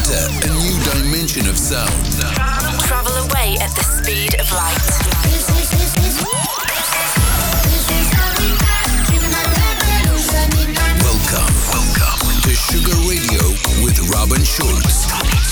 Enter a new dimension of sound. Travel away at the speed of light. Welcome to Sugar Radio with Robin Schulz.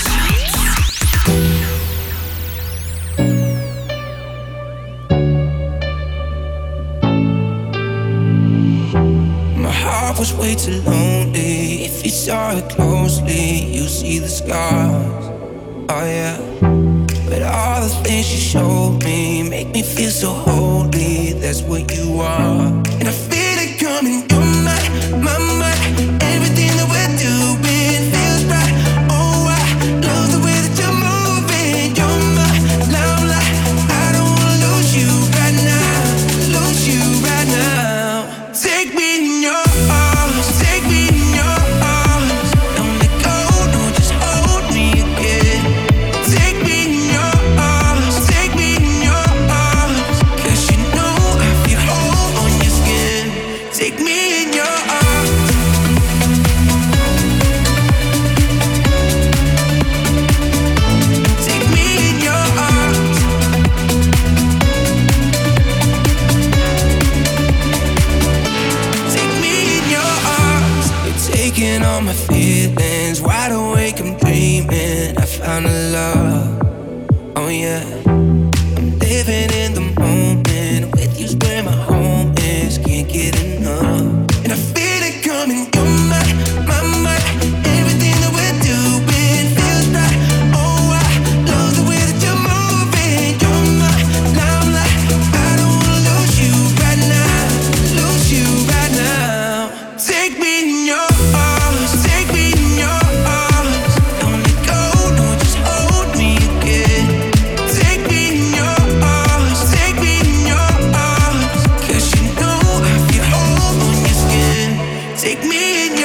My heart was way too lonely. If you saw it closely, you see the scars. Oh yeah. But all the things you showed me make me feel so holy. That's what you are. And I feel it coming. You're my mind. Everything that we're doing feels right. Oh, I love the way that you're moving. You're my limelight. I don't wanna lose you right now. Lose you right now. Take me in your arms. Take me in your arms. Don't let go. No, just hold me again. Take me in your arms. Take me in your arms. 'Cause you know I feel whole on your skin. Take me in your arms. Take me in your arms. Take me in your arms. You're taking all my feelings. Wide awake, I'm dreaming. I found a love. Oh yeah. I'm living in the moment. With you's where my home is. Can't get enough. And I feel it coming. You're my mind. Everything that we're doing feels right. Oh, I love the way that you're moving. You're my limelight. I don't wanna lose you right now. Lose you right now. Take me in your arms. Take me in your arms. Don't let go. No, just hold me again. Take me in your arms. Take me in your arms. 'Cause you know I feel whole on your skin. Take me in your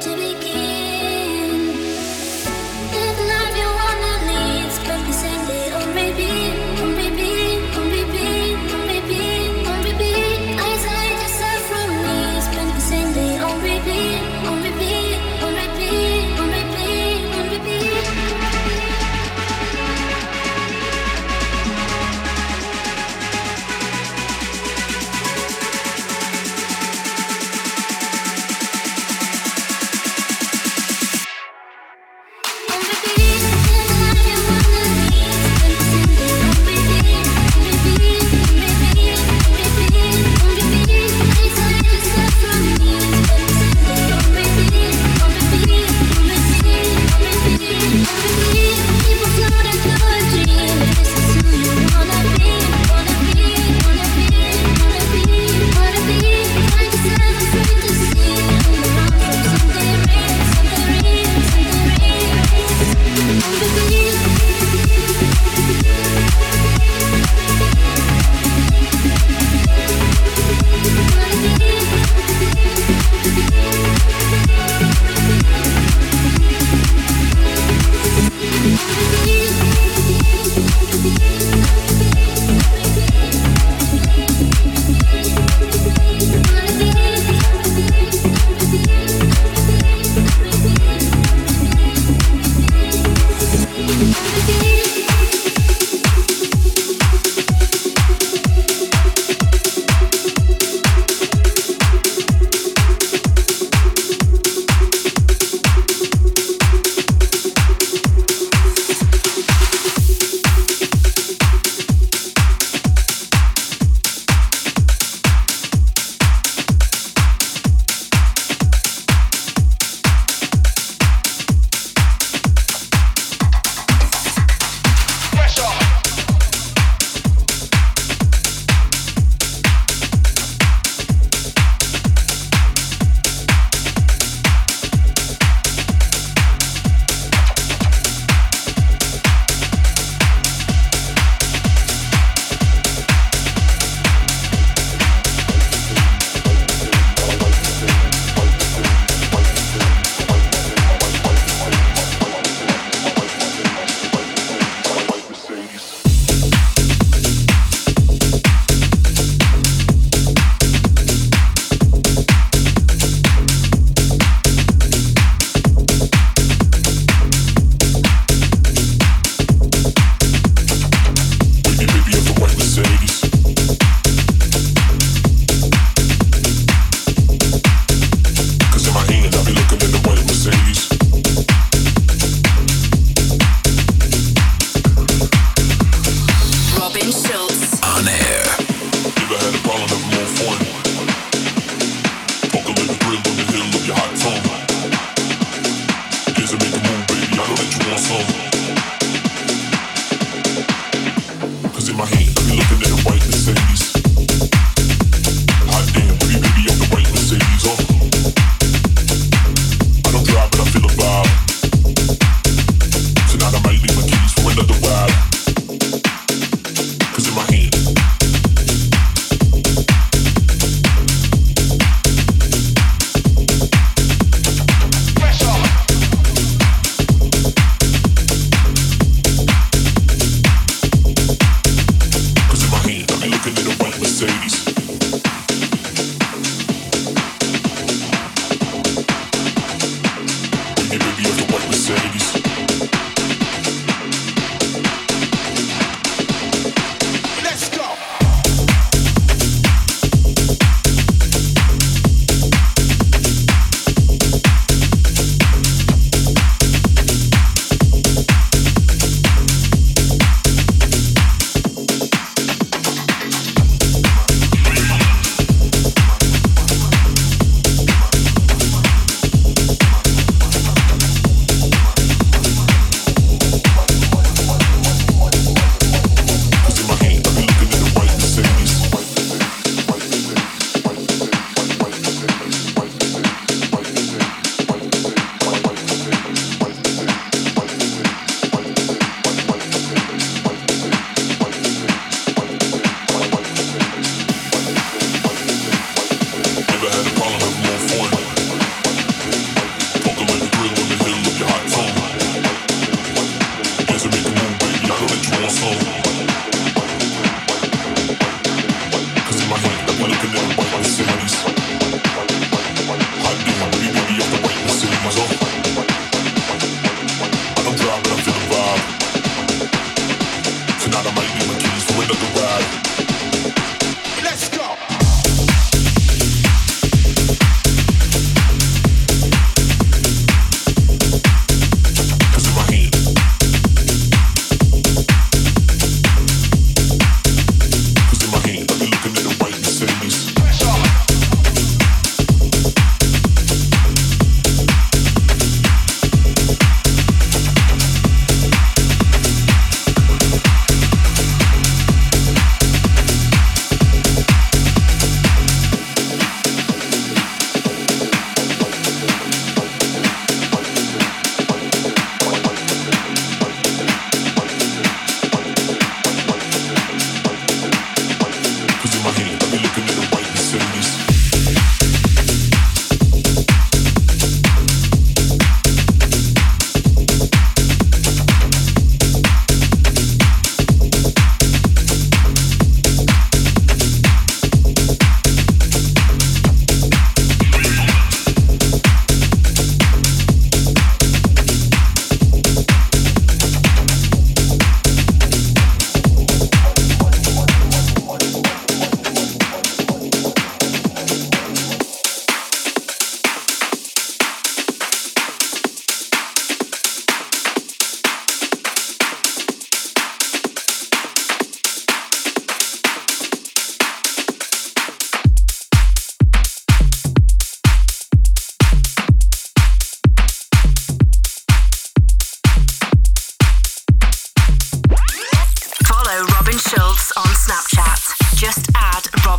Never had a problem with more fun.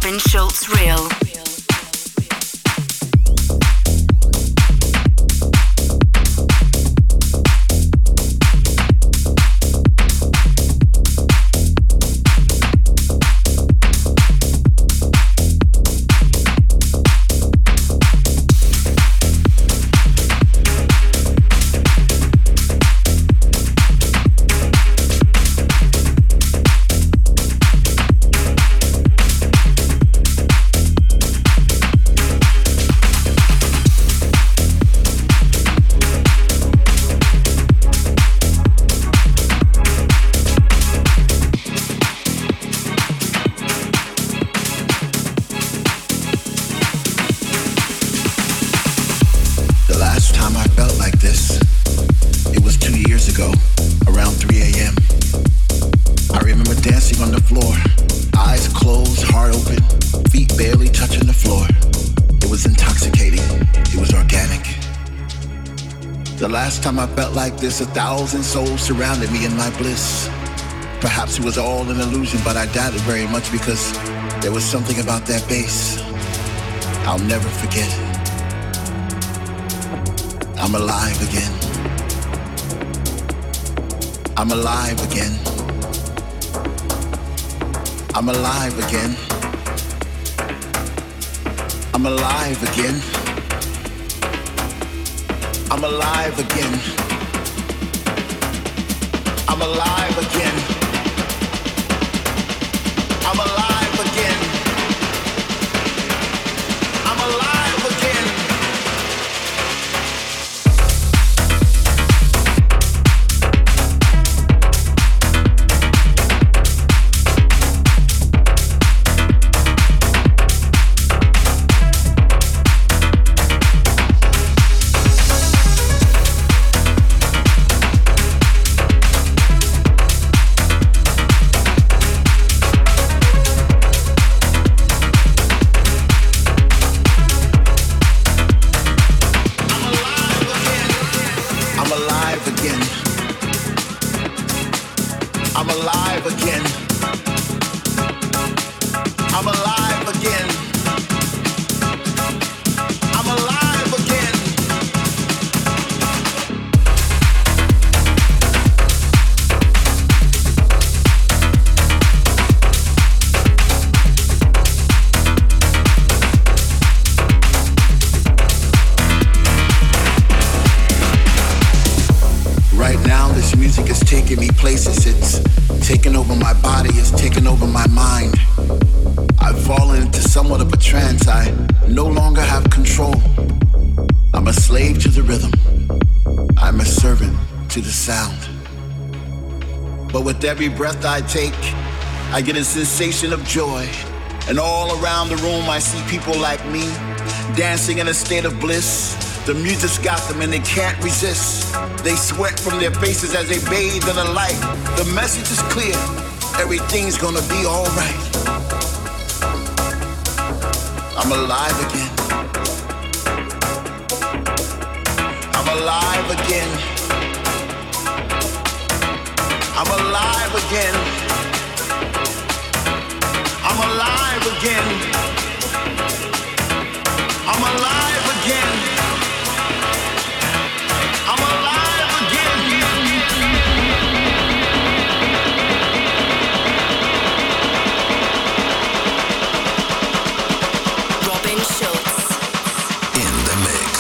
Robin Schulz Real. Time I felt like this, 1,000 souls surrounded me in my bliss. Perhaps it was all an illusion, but I doubt it very much because there was something about that bass I'll never forget. I'm alive again. I'm alive again. I'm alive again. I'm alive again. I'm alive again. I'm alive again. I'm alive again. I'm alive again. Every breath I take, I get a sensation of joy. And all around the room I see people like me, dancing in a state of bliss. The music's got them and they can't resist. They sweat from their faces as they bathe in the light. The message is clear, everything's gonna be alright. I'm alive again. I'm alive again. I'm alive again. I'm alive again. I'm alive again. I'm alive again. Robin Schulz in the mix.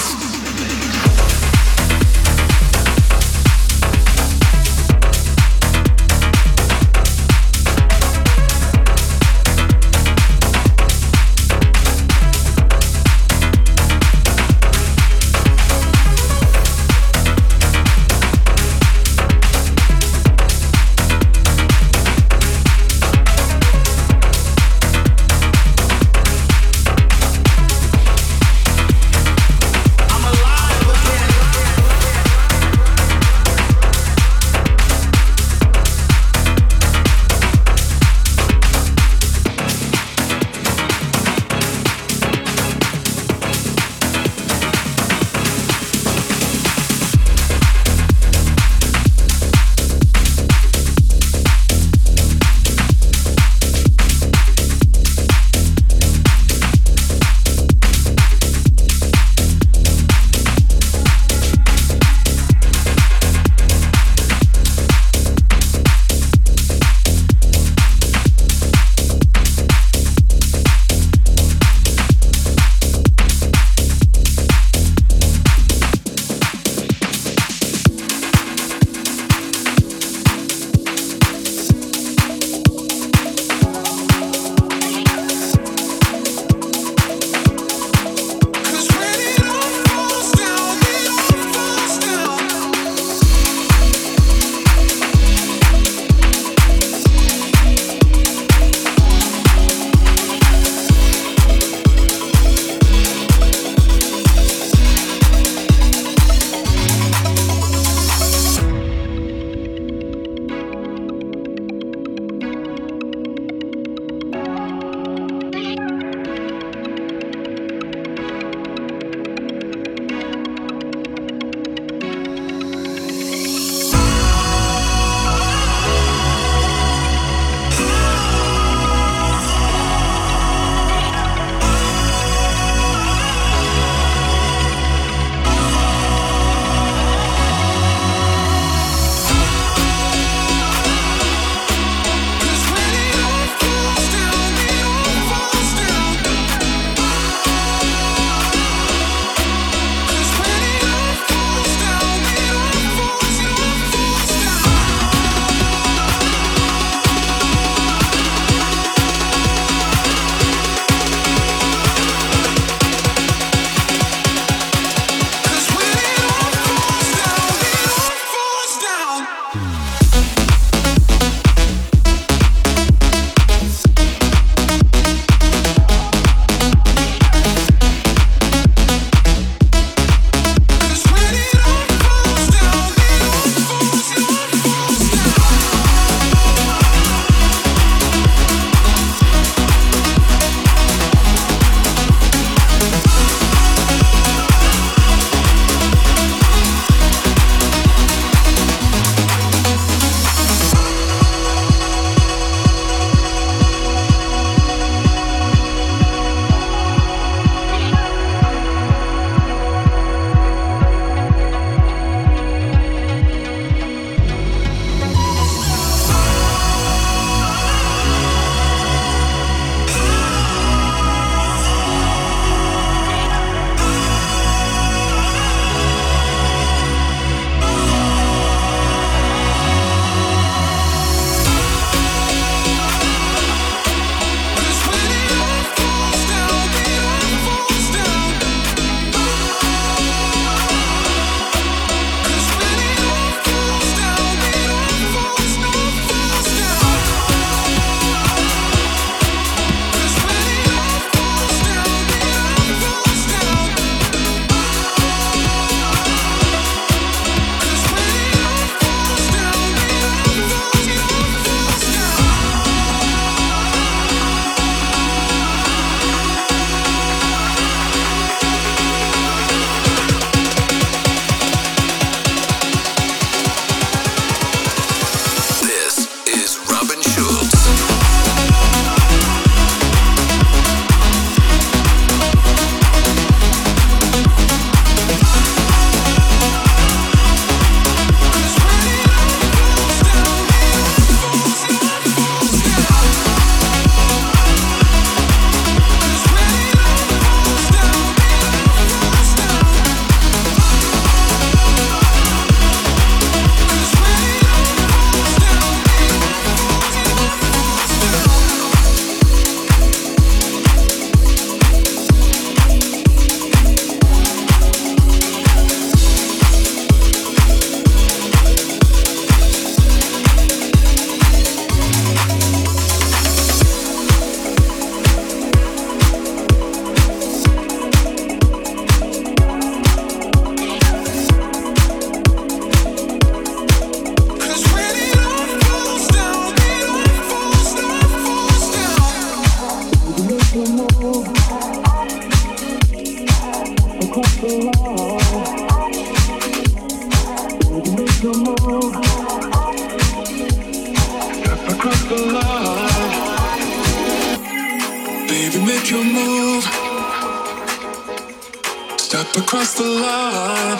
Across the line,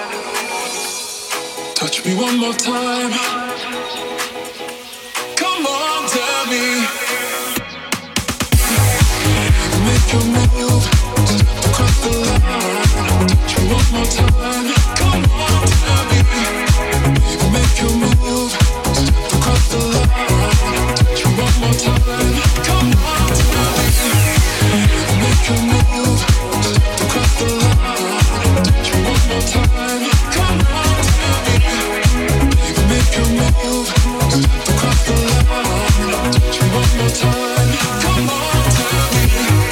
touch me one more time. Come on, tell me. Make your move, step across the line. Touch me one more time. Come on, tell me. Make your move, step across the line. Touch me one more time. Come on, tell me. Make your move, step across the line. Time. Come on, tell me. Baby, make your move. Step across the line. Touch you one more time. Come on, tell me.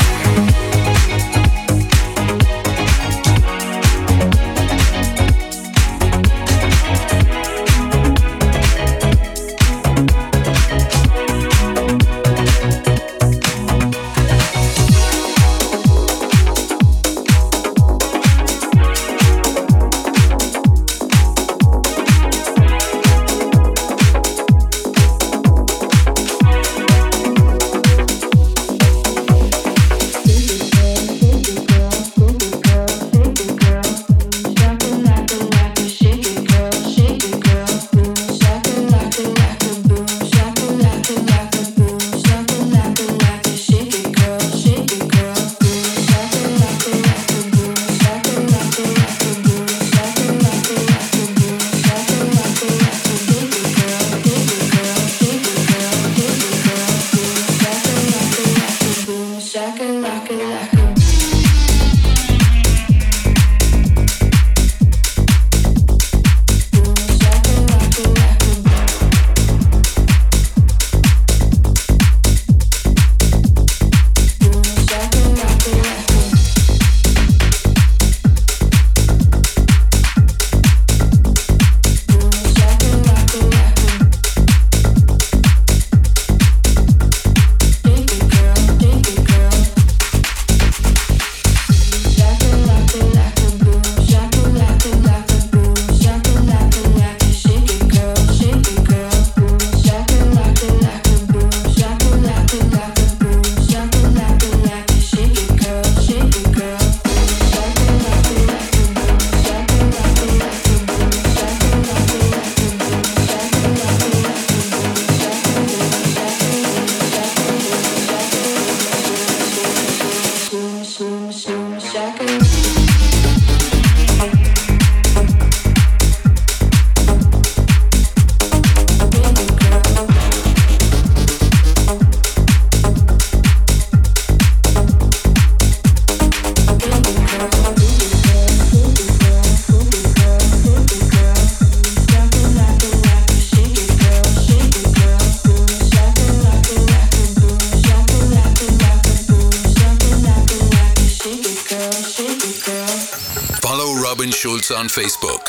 Schulz on Facebook.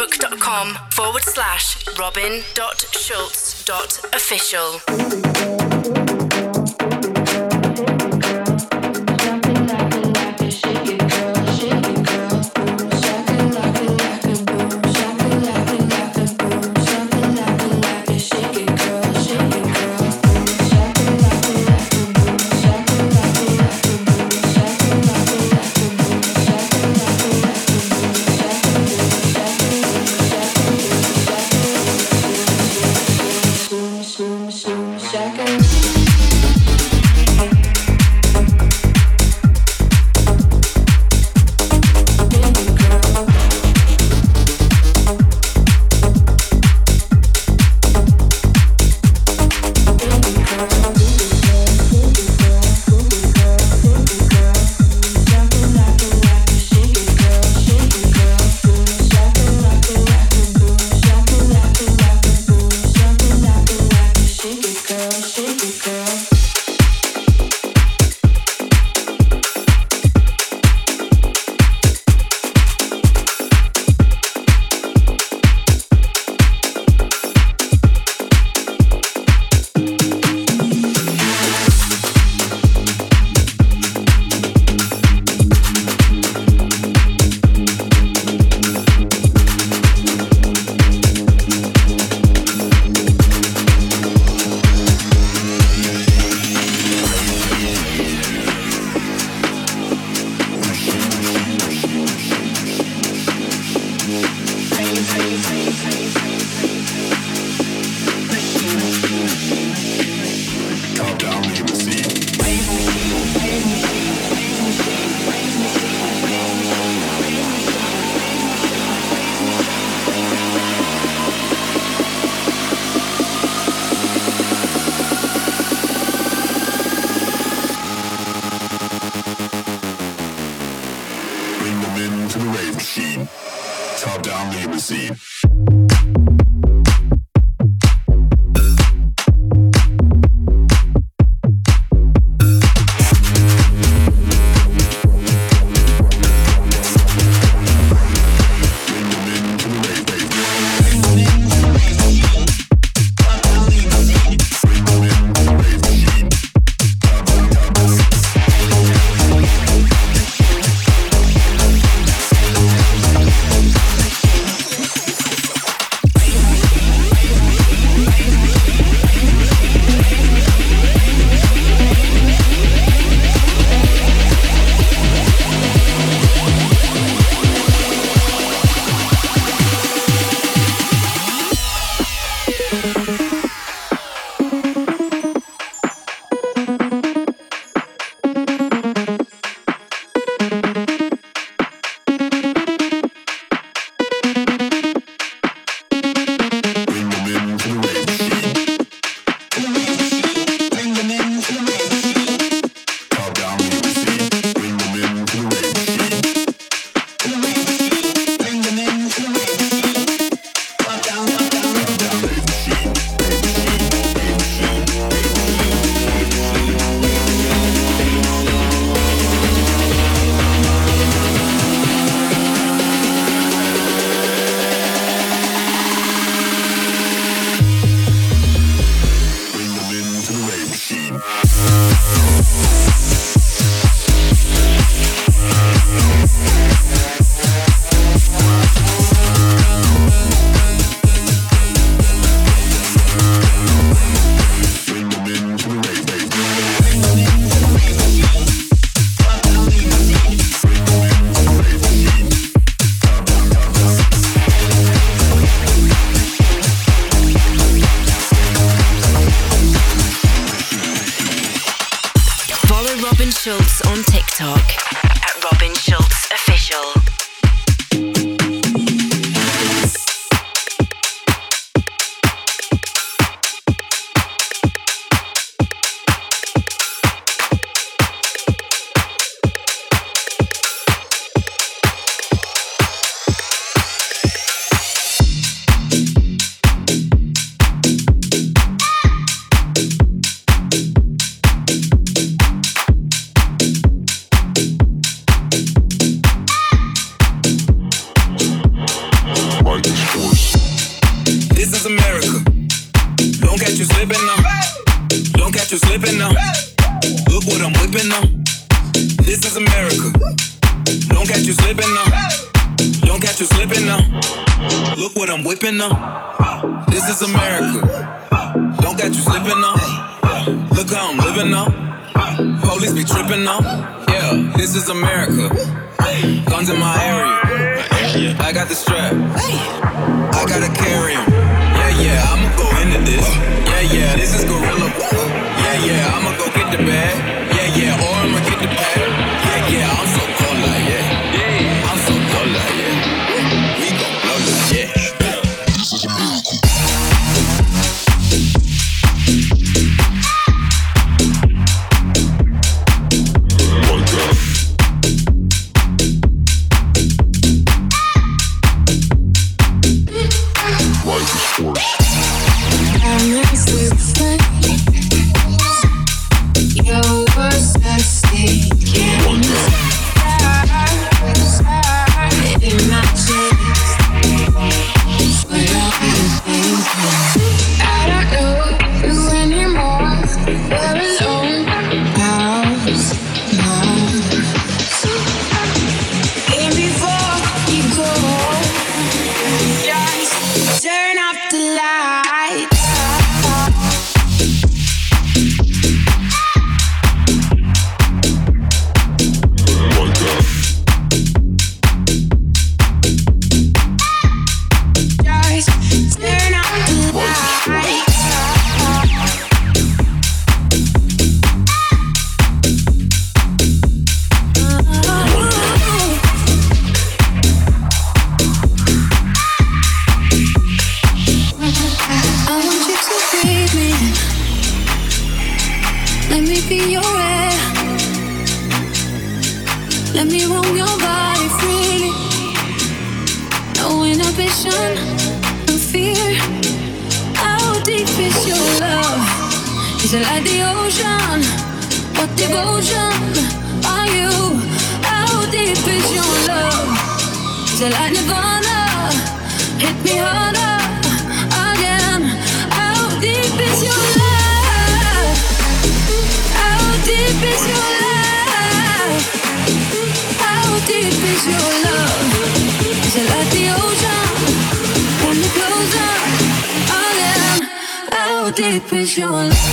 Facebook.com/robin.schulz.official. Shaka. into the rave machine. Top down limousine. Schultz on TikTok at Robin Schultz Official. This is America. Don't got you slipping now. Look how I'm living now. Police be tripping now. Yeah, this is America. Guns in my area. I got the strap. I gotta carry 'em. Yeah, I'ma go into this. Yeah, this is gorilla. Yeah, I'ma go get the bag. Yeah, or I'ma get the bag. Yeah, I'm so cold like yeah. I'm so cold like yeah. We gon' blow this, yeah. Is it like the ocean? What devotion are you? How deep is your love? Is it like Nirvana? Hit me harder again. How deep is your love? How deep is your love? How deep is your love? Is it like the ocean? When you close up again. How deep is your love?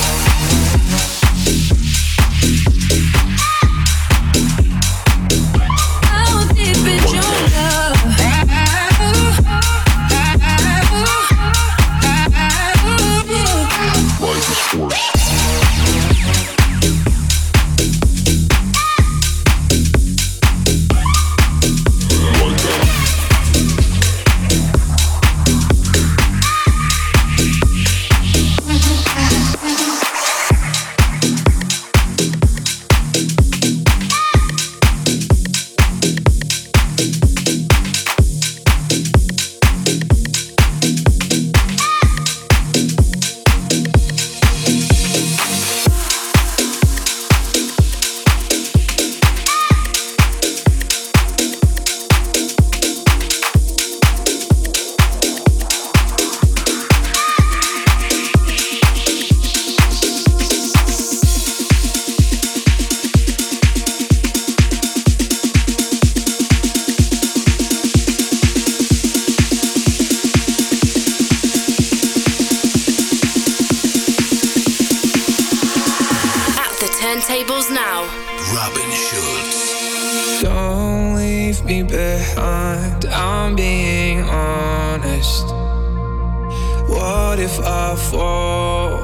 Turntables now. Robin Schulz. Don't leave me behind, I'm being honest. What if I fall?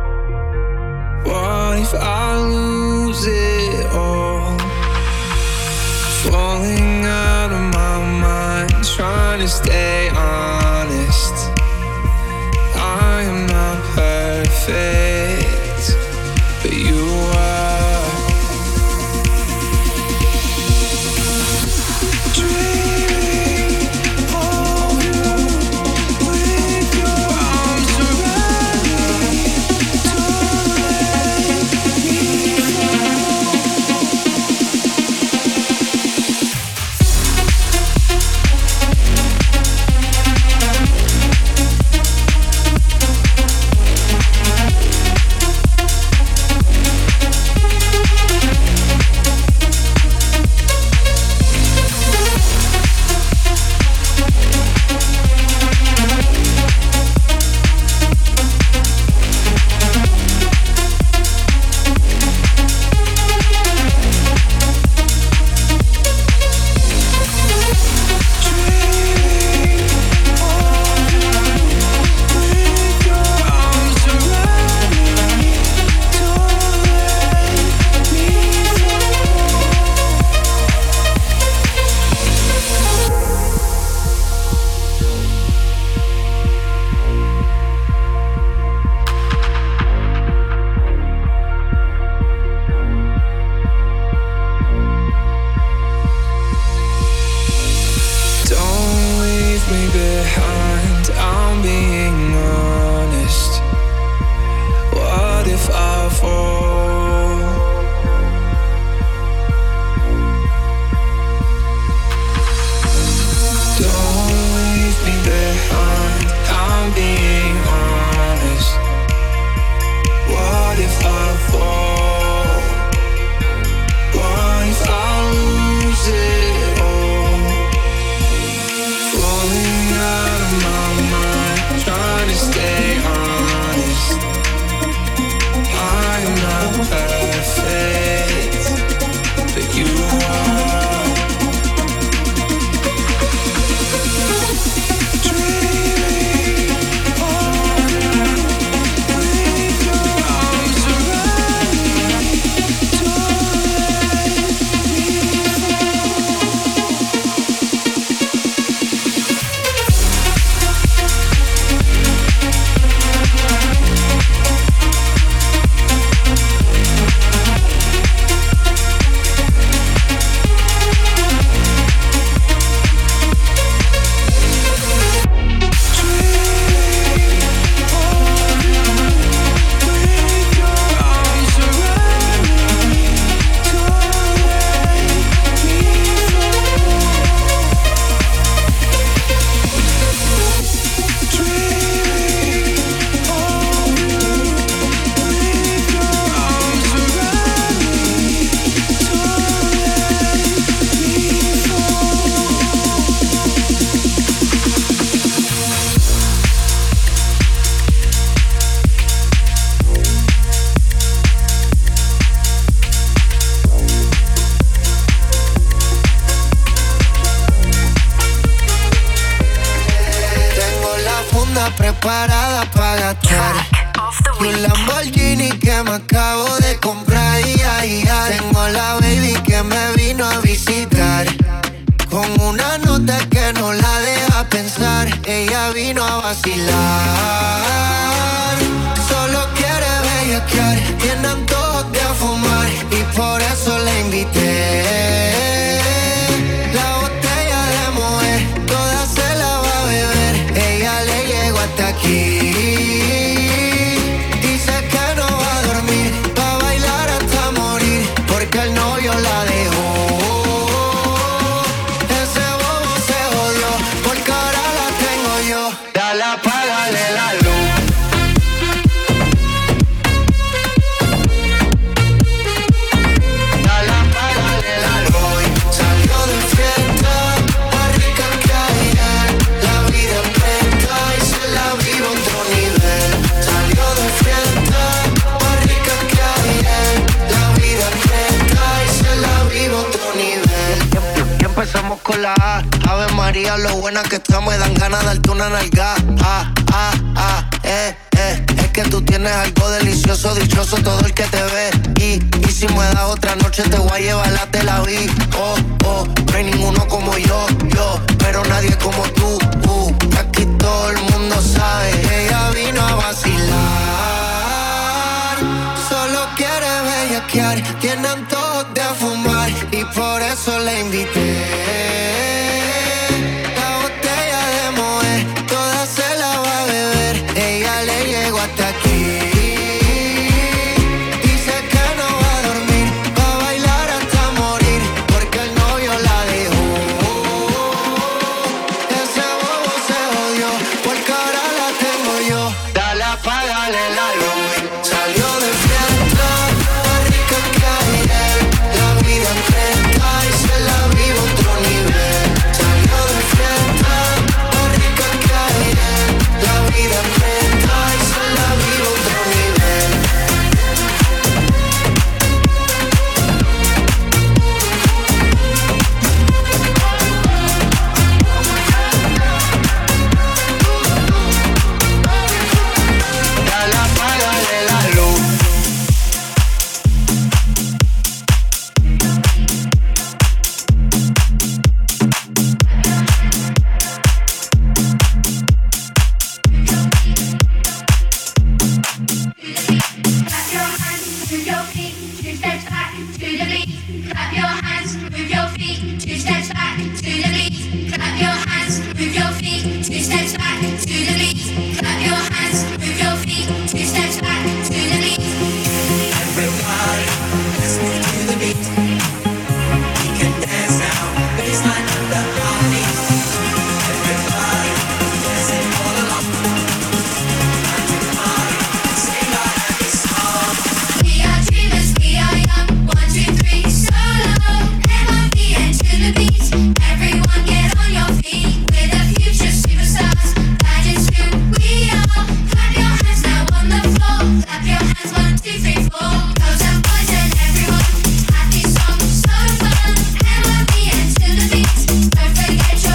What if I lose it all? Falling out of my mind, trying to stay honest. I am not perfect, but you are. preparada para gastar. Y un Lamborghini que me acabo de comprar. Tengo la baby que me vino a visitar, con una nota que no la deja pensar. Ella vino a vacilar, solo quiere bellaquear, tiene antojos de fumar y por eso la invité. La botella de mujer, toda se la va a beber. Ella le llegó hasta aquí. Dice que no va a dormir, va a bailar hasta morir, porque el novio la dejó. Ese bobo se jodió, porque ahora la tengo yo. Dale, apágale la luz. Dale, apágale la luz. Salió de fiesta, más rica que ayer. La vida presta y se la vive a otro nivel. Salió de fiesta, más rica que ayer. La vida presta y se la vive a otro nivel. Y empezamos con la A. Ave María, lo buena que estamos, me dan ganas de darte una nalga. Es que tú tienes algo delicioso, dichoso todo el que te ve. Y si me das otra noche te voy a llevar a Tel Aviv. No hay ninguno como yo, pero nadie como tú. Aquí todo el mundo sabe, ella vino a vacilar. Solo quiere bellaquear, tiene antojos de fumar y por eso la invité. La botella de Moët, toda se la va a beber. Ella le llegó hasta aquí. Dice que no va a dormir, va a bailar hasta morir, porque el novio la dejó. Ese bobo se jodió, porque ahora la tengo yo. Dale, apágale la luz. Salió de fiesta, más rica que ayer. La vida presta y se la vive a otro nivel. Salió de fiesta, más rica que ayer. La vida presta y se la vive a otro nivel. Dale, apágale la luz. Clap your hands, move your feet, 2 steps back to the beat. Clap your hands, move your feet, 2 steps back to the beat. Clap your hands, move your feet, 2 steps back to the beat. Clap your hands, move your feet, 2 steps back to the beat. Everybody, let's move to the beat. We can dance now, baseline under our feet. Everybody, dancing all along. Sing our happy song. We are dreamers, we are young, 1, 2, 3, solo. M-I-V-N to the beat. Everyone get on your feet. We're the future superstars. That is who we are. Clap your hands now on the floor. Clap your hands, 1, 2, 3, 4. Girls and boys and everyone. Happy song, so fun. M-I-V-N to the beat. Don't forget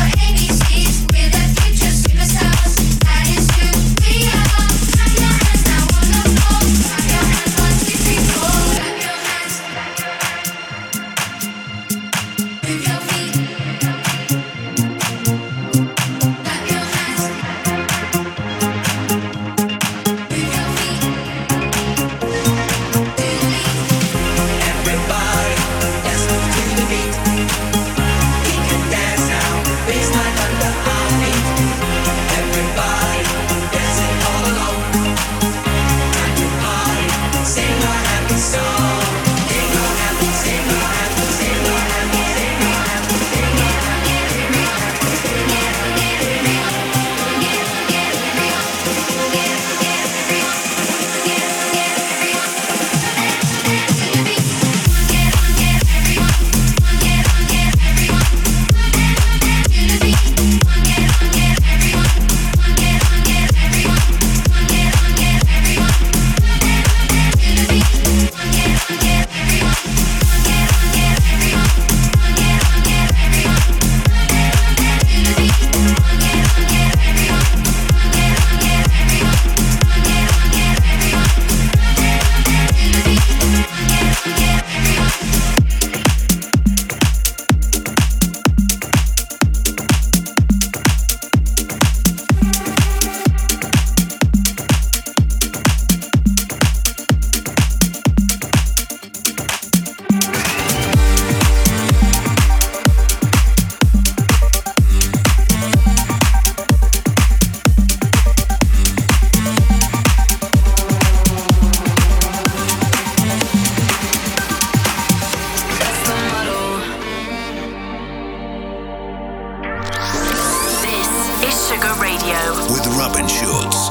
Sugar Radio with Robin Schulz.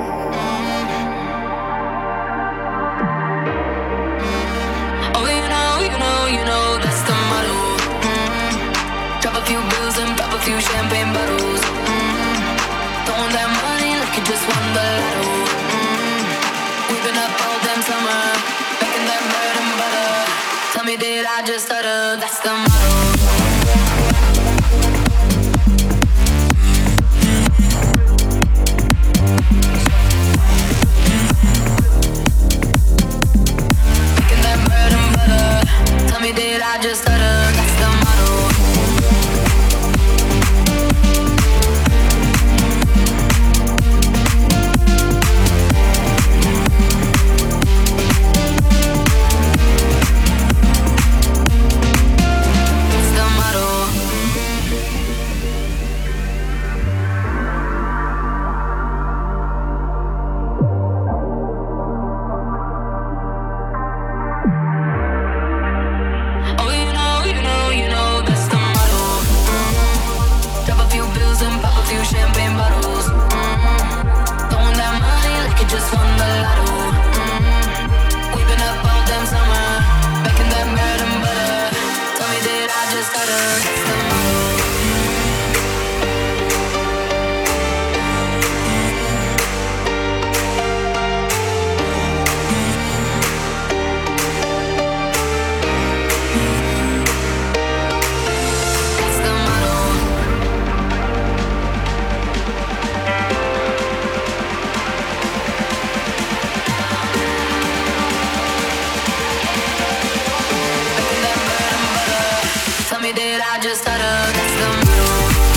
Oh, you know, that's the motto. Drop a few bills and pop a few champagne bottles. Throwing that money like you just won the lotto. We've been up all damn summer, making that bread and butter. Tell me, did I just stutter? That's the motto. Tell me, did I just stutter? That's the motto. That's the motto. Champagne bottles, throwing that money like you just won the lotto. We've been up all damn summer, making that bread and butter. Tell me, did I just stutter? That's the motto. Did I just stutter? That's the motto.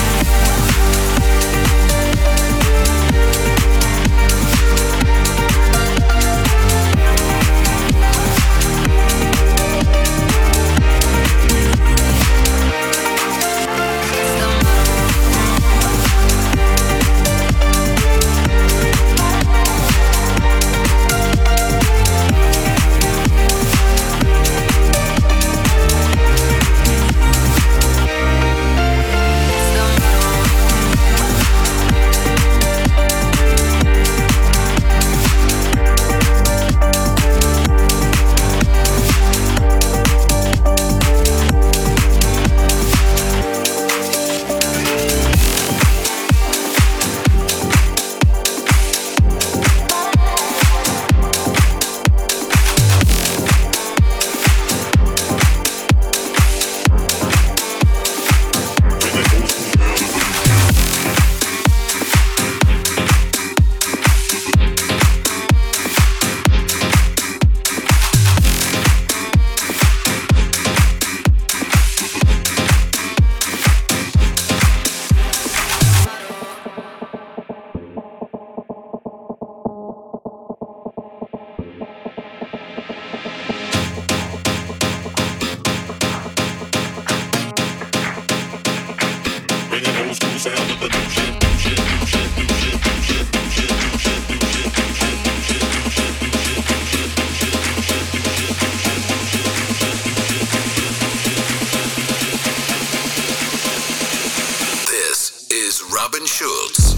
Robin Schulz.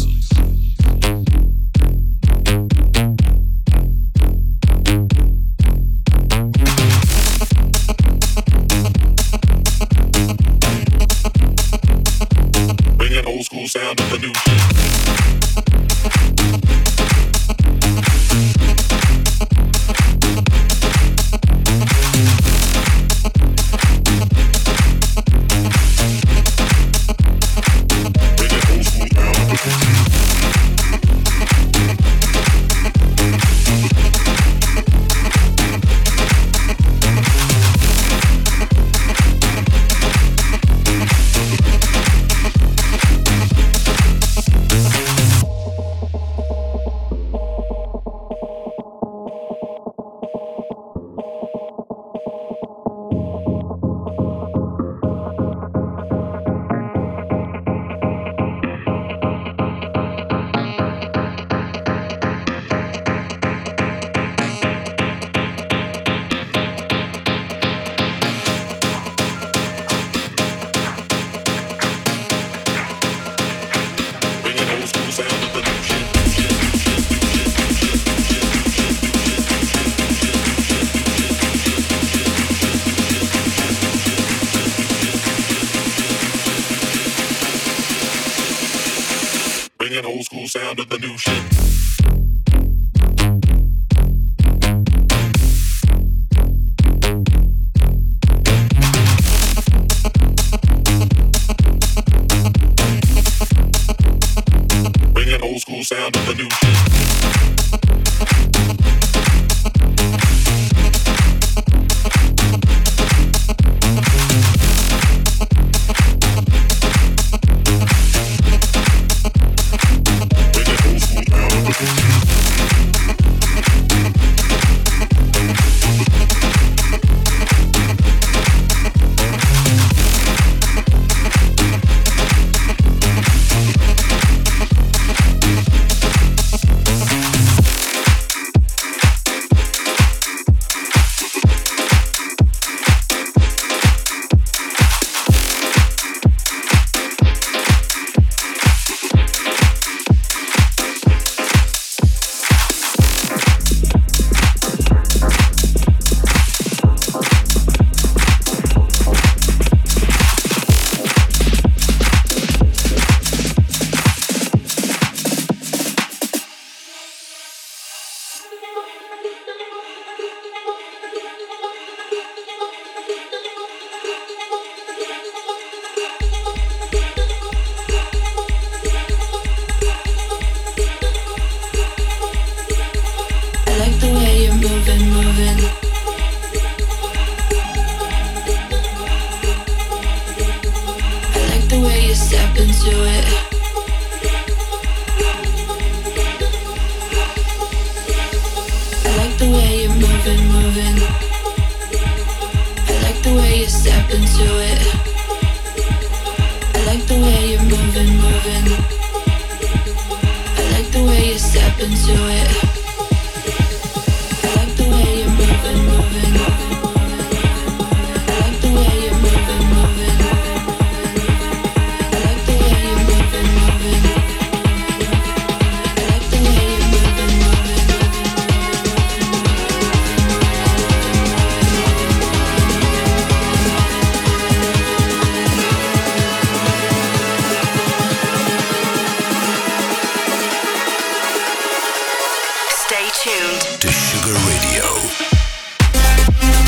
Bringing old school sound of the new shit. Bringing old school sound to the new shit. Bringing old school sound to the new shit. Stay tuned to Sugar Radio.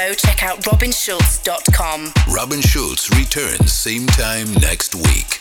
info, check out robinschulz.com. Robin Schulz returns same time next week.